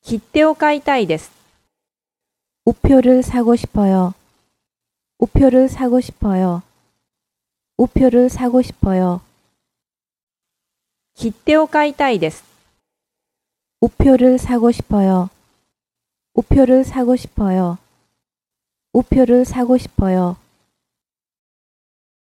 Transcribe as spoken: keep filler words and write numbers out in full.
切手を買いたいです。 우표를 사고 싶어요. 우표를 사고 싶어요. 우표를 사고 싶어요. 切手を買いたいです。 우표를 사고 싶어요. 우표를 사고 싶어요. 우표를 사고 싶어요.